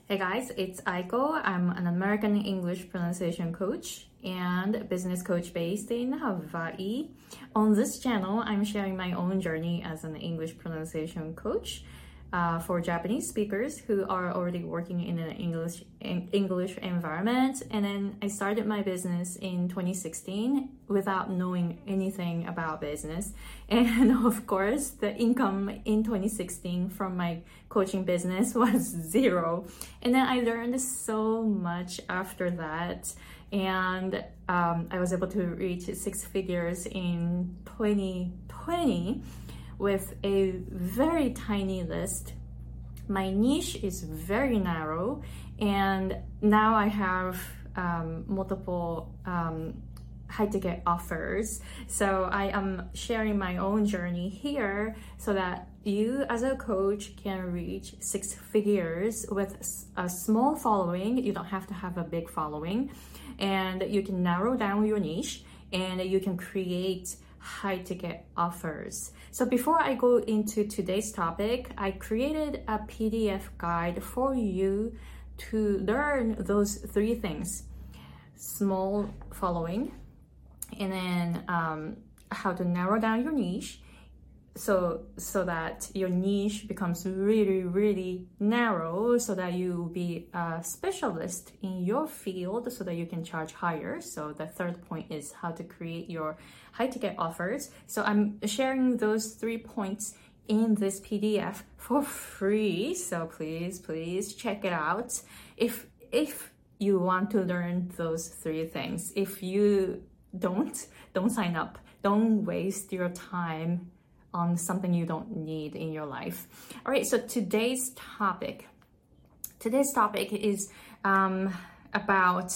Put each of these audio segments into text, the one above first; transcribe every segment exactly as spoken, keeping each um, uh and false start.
Hey guys, it's Aiko. I'm an American English pronunciation coach and business coach based in Hawaii. On this channel, I'm sharing my own journey as an English pronunciation coach uh, for Japanese speakers who are already working in an English in English environment. And then I started my business in twenty sixteen without knowing anything about business. And of course, the income in twenty sixteen from my coaching business was zero. And then I learned so much after that. And um, I was able to reach six figures in twenty twenty with a very tiny list. My niche is very narrow, and now I have um, multiple um, high ticket offers. So I am sharing my own journey here so that you as a coach can reach six figures with a small following. You don't have to have a big following, and you can narrow down your niche and you can create high ticket offers. So before I go into today's topic, I created a P D F guide for you to learn those three things: small following, and then um, how to narrow down your niche so so that your niche becomes really really narrow, so that you will be a specialist in your field so that you can charge higher. So the third point is how to create your high ticket offers. So I'm sharing those three points in this P D F for free, so please please check it out if if you want to learn those three things. If you don't don't sign up. Don't waste your time on something you don't need in your life. All right, so today's topic today's topic is um, about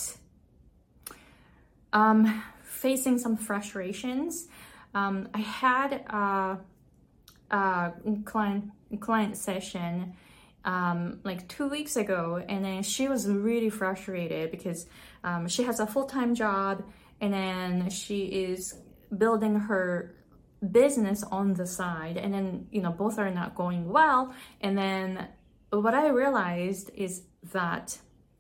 um, facing some frustrations. um, I had a, a client client session um, like two weeks ago, and then she was really frustrated because um, she has a full-time job, and then she is building her business on the side, and then you know both are not going well. And then what I realized is that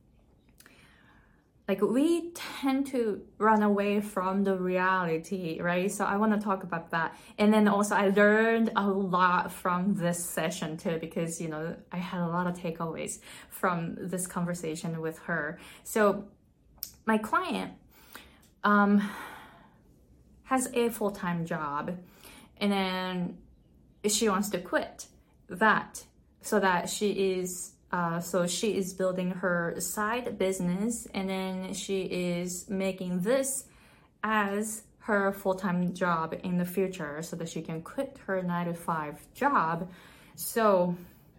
like we tend to run away from the reality, right? So I want to talk about that. And then also I learned a lot from this session too, because you know I had a lot of takeaways from this conversation with her. So my client um has a full-time job, and then she wants to quit that so that she is uh, so she is building her side business, and then she is making this as her full-time job in the future so that she can quit her nine to five job. So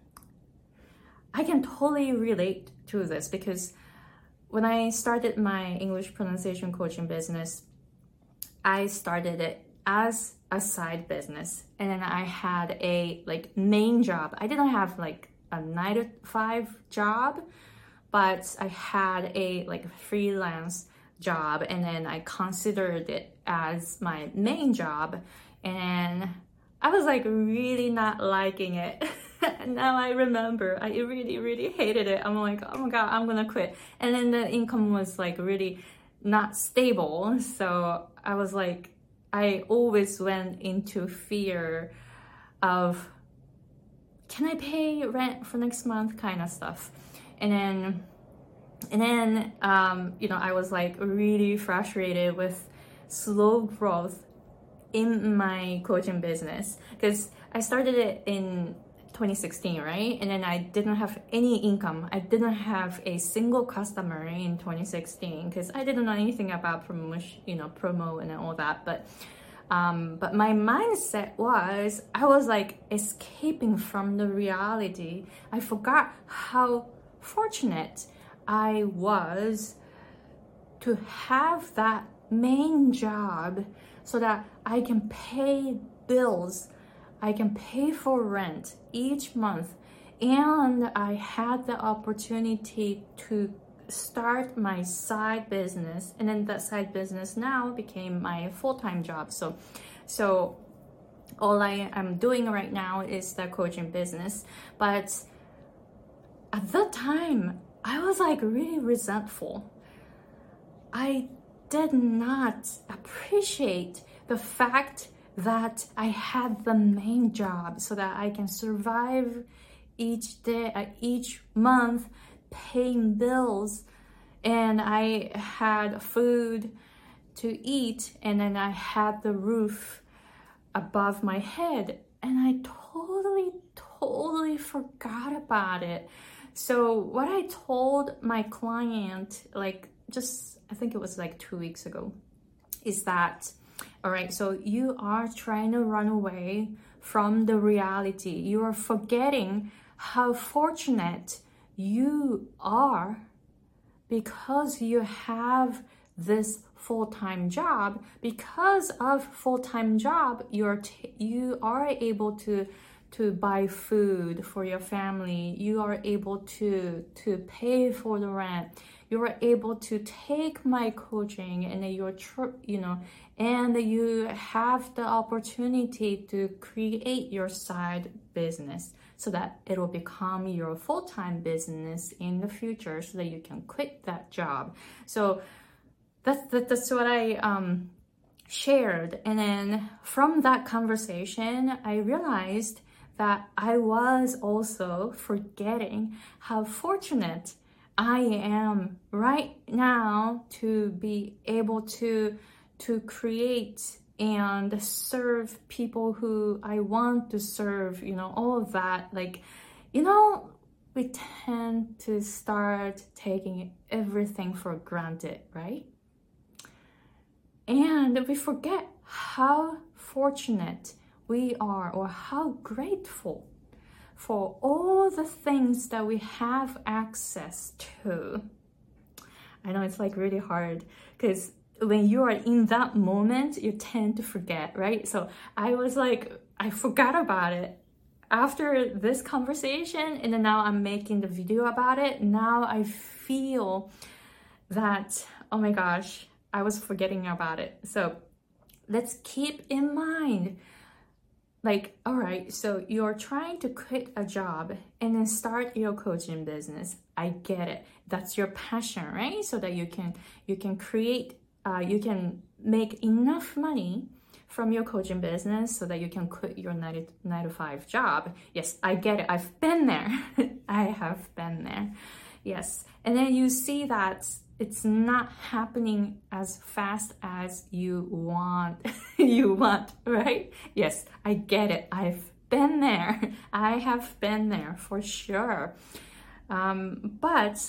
I can totally relate to this, because when I started my English pronunciation coaching business, I started it as a side business, and then I had a like main job. I didn't have like a nine to five job, but I had a like freelance job, and then I considered it as my main job, and I was like really not liking it. Now I remember I really really hated it. I'm like, oh my god, I'm gonna quit. And then the income was like really not stable, so I was like, I always went into fear of, can I pay rent for next month, kind of stuff. And then and then um, you know I was like really frustrated with slow growth in my coaching business, because I started it in twenty sixteen, right? And then I didn't have any income. I didn't have a single customer in twenty sixteen because I didn't know anything about promotion, you know, promo and all that. But um, but my mindset was, I was like escaping from the reality. I forgot how fortunate I was to have that main job so that I can pay bills. I can pay for rent each month, and I had the opportunity to start my side business, and then that side business now became my full-time job. So so all I am doing right now is the coaching business, but at that time, I was like really resentful. I did not appreciate the fact that I had the main job so that I can survive each day, uh, each month, paying bills, and I had food to eat, and then I had the roof above my head, and I totally, totally forgot about it. So what I told my client, like just, I think it was like two weeks ago, is that, all right, so you are trying to run away from the reality. You are forgetting how fortunate you are because you have this full-time job. Because of full-time job, you're t- you are able to to buy food for your family. You are able to to pay for the rent. You are able to take my coaching, and you're tr- you know, and you have the opportunity to create your side business so that it will become your full-time business in the future, so that you can quit that job. So that's that, that's what I um shared. And then from that conversation, I realized that I was also forgetting how fortunate I am right now to be able to to create and serve people who I want to serve, you know, all of that. Like, you know, we tend to start taking everything for granted, right? And we forget how fortunate we are, or how grateful for all the things that we have access to. I know it's like really hard, because when you are in that moment, you tend to forget, right? So I was like, I forgot about it after this conversation, and then now I'm making the video about it. Now I feel that, oh my gosh, I was forgetting about it. So let's keep in mind, like, all right, so you're trying to quit a job and then start your coaching business. I get it. That's your passion, right? So that you can you can create, uh, you can make enough money from your coaching business so that you can quit your nine to five job. Yes, I get it. I've been there. I have been there. Yes. And then you see that it's not happening as fast as you want, you want, right? Yes, I get it. I've been there. I have been there for sure. Um, but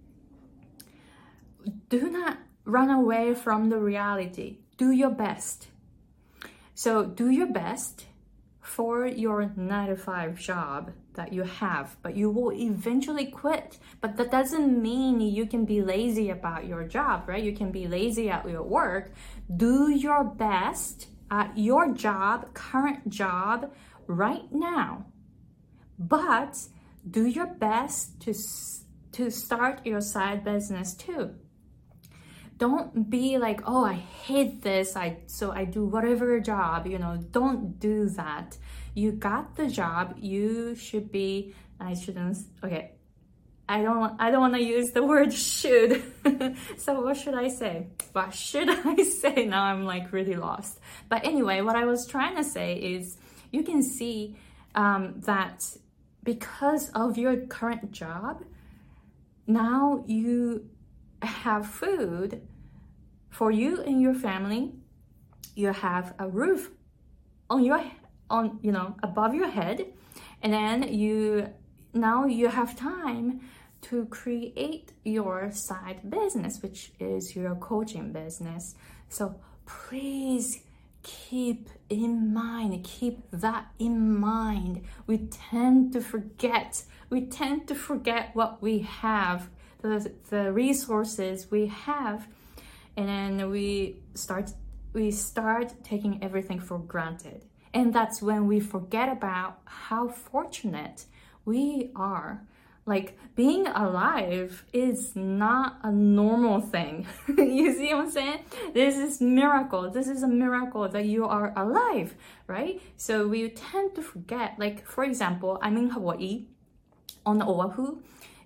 do not run away from the reality. Do your best. So do your best for your nine to five job that you have, but you will eventually quit. But that doesn't mean you can be lazy about your job, right? You can be lazy at your work. Do your best at your job, current job right now, but do your best to to start your side business too. Don't be like, oh, I hate this, I so I do whatever job, you know. Don't do that. You got the job. You should be, I shouldn't, okay. I don't I don't want to use the word should. So what should I say? What should I say? Now I'm like really lost. But anyway, what I was trying to say is, you can see um, that because of your current job, now you have food for you and your family. You have a roof on your on you know above your head, and then you now you have time to create your side business, which is your coaching business. So please keep in mind, keep that in mind. We tend to forget, we tend to forget what we have, the, the resources we have, and then we start, we start taking everything for granted. And that's when we forget about how fortunate we are. Like, being alive is not a normal thing. You see what I'm saying? This is miracle. This is a miracle that you are alive, right? So we tend to forget. Like, for example, I'm in Hawaii, on Oahu,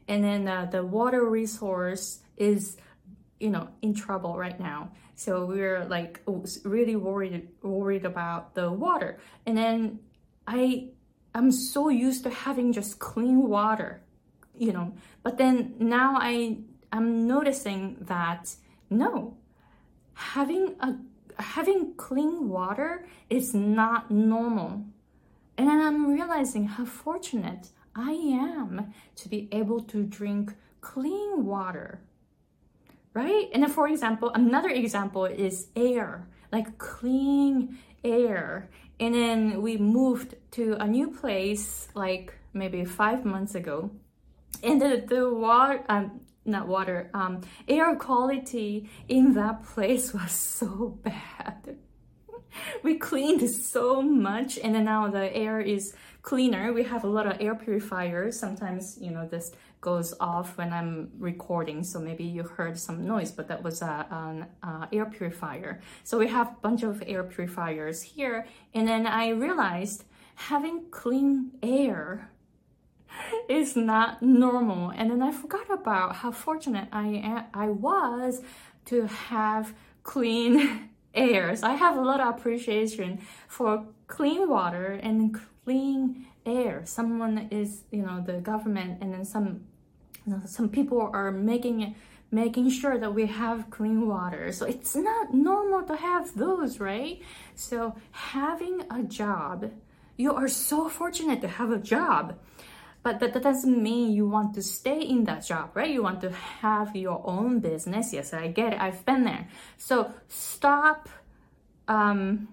and then uh, the water resource is, you know, in trouble right now. So we're like really worried worried about the water. And then I I'm so used to having just clean water, you know. But then now I I'm noticing that no, having a having clean water is not normal. And then I'm realizing how fortunate I am to be able to drink clean water, right? And then, for example, another example is air, like clean air. And then we moved to a new place like maybe five months ago. And the, the water, um, not water, um, air quality in that place was so bad. We cleaned so much, and then now the air is cleaner. We have a lot of air purifiers. Sometimes, you know, this goes off when I'm recording, so maybe you heard some noise, but that was a, an uh, air purifier. So we have a bunch of air purifiers here, and then I realized having clean air is not normal. And then I forgot about how fortunate I am, I was to have clean air. So I have a lot of appreciation for clean water and clean air. Someone is, you know, the government, and then some, you know, some people are making making sure that we have clean water. So it's not normal to have those, right? So having a job, you are so fortunate to have a job. But that, that doesn't mean you want to stay in that job, right? You want to have your own business. Yes, I get it. I've been there. So stop. Um,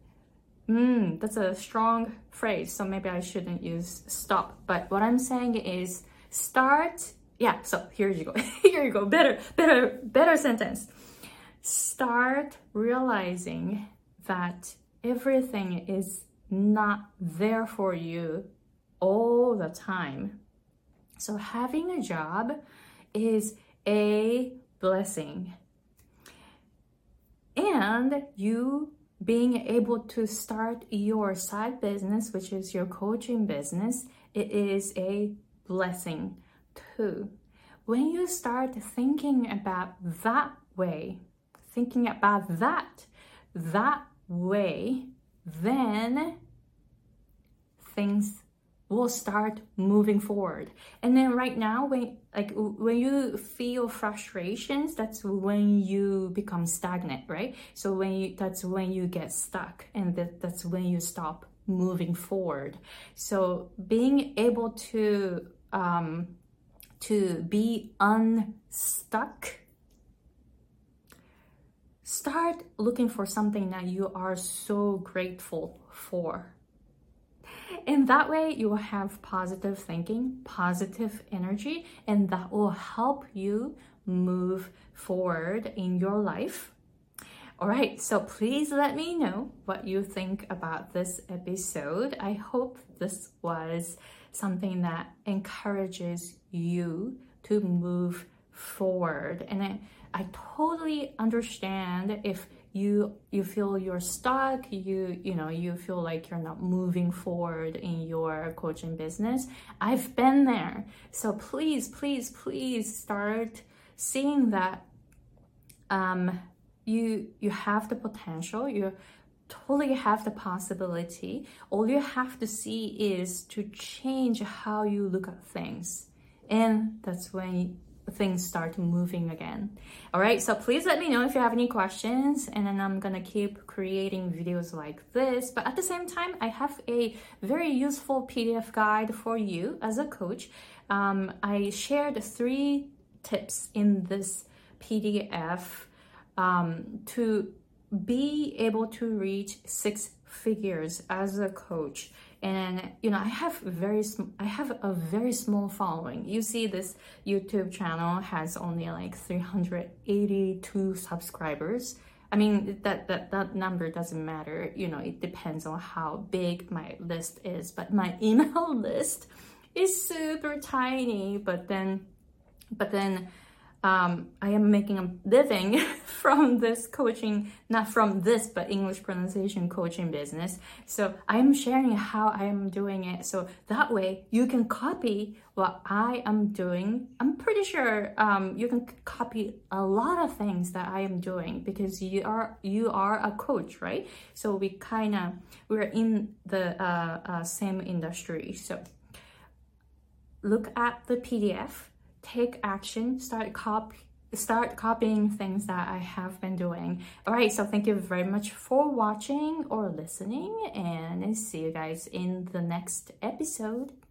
mm, that's a strong phrase. So maybe I shouldn't use stop. But what I'm saying is start. Yeah. So here you go. Here you go. Better, better, better sentence. Start realizing that everything is not there for you all the time. So having a job is a blessing. And you being able to start your side business, which is your coaching business, it is a blessing too. When you start thinking about that way, thinking about that, that way, then things will start moving forward. And then right now, when like when you feel frustrations, that's when you become stagnant, right? So when you, that's when you get stuck, and that, that's when you stop moving forward. So being able to um, to be unstuck, start looking for something that you are so grateful for. And that way you will have positive thinking, positive energy, and that will help you move forward in your life. All right, so please let me know what you think about this episode. I hope this was something that encourages you to move forward. And I, I totally understand if you you feel you're stuck, you you know you feel like you're not moving forward in your coaching business. I've been there. So please please please start seeing that um you you have the potential, you totally have the possibility. All you have to see is to change how you look at things, and that's when things start moving again. All right, so please let me know if you have any questions, and then I'm gonna keep creating videos like this. But at the same time, I have a very useful P D F guide for you as a coach. Um, I shared three tips in this P D F um, to be able to reach six figures as a coach. And you know, I have very sm- I have a very small following. You see, this YouTube channel has only like three hundred eighty-two subscribers. I mean, that that that number doesn't matter. You know, it depends on how big my list is. But my email list is super tiny. But then, but then. um, I am making a living from this coaching, not from this, but English pronunciation coaching business. So I am sharing how I am doing it. So that way you can copy what I am doing. I'm pretty sure um, you can copy a lot of things that I am doing because you are you are a coach, right? So we kind of, we're in the uh, uh, same industry. So look at the P D F, take action, start copy, start copying things that I have been doing. All right, so thank you very much for watching or listening, and see you guys in the next episode.